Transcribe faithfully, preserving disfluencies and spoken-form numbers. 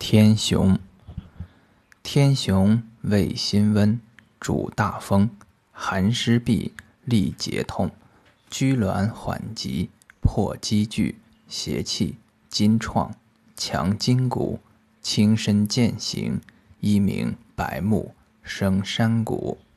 天雄，天雄味辛温，主大风，寒湿痹，利结痛，拘挛缓急，破积聚，邪气，筋创，强筋骨，轻身健行，一名白目，生山谷。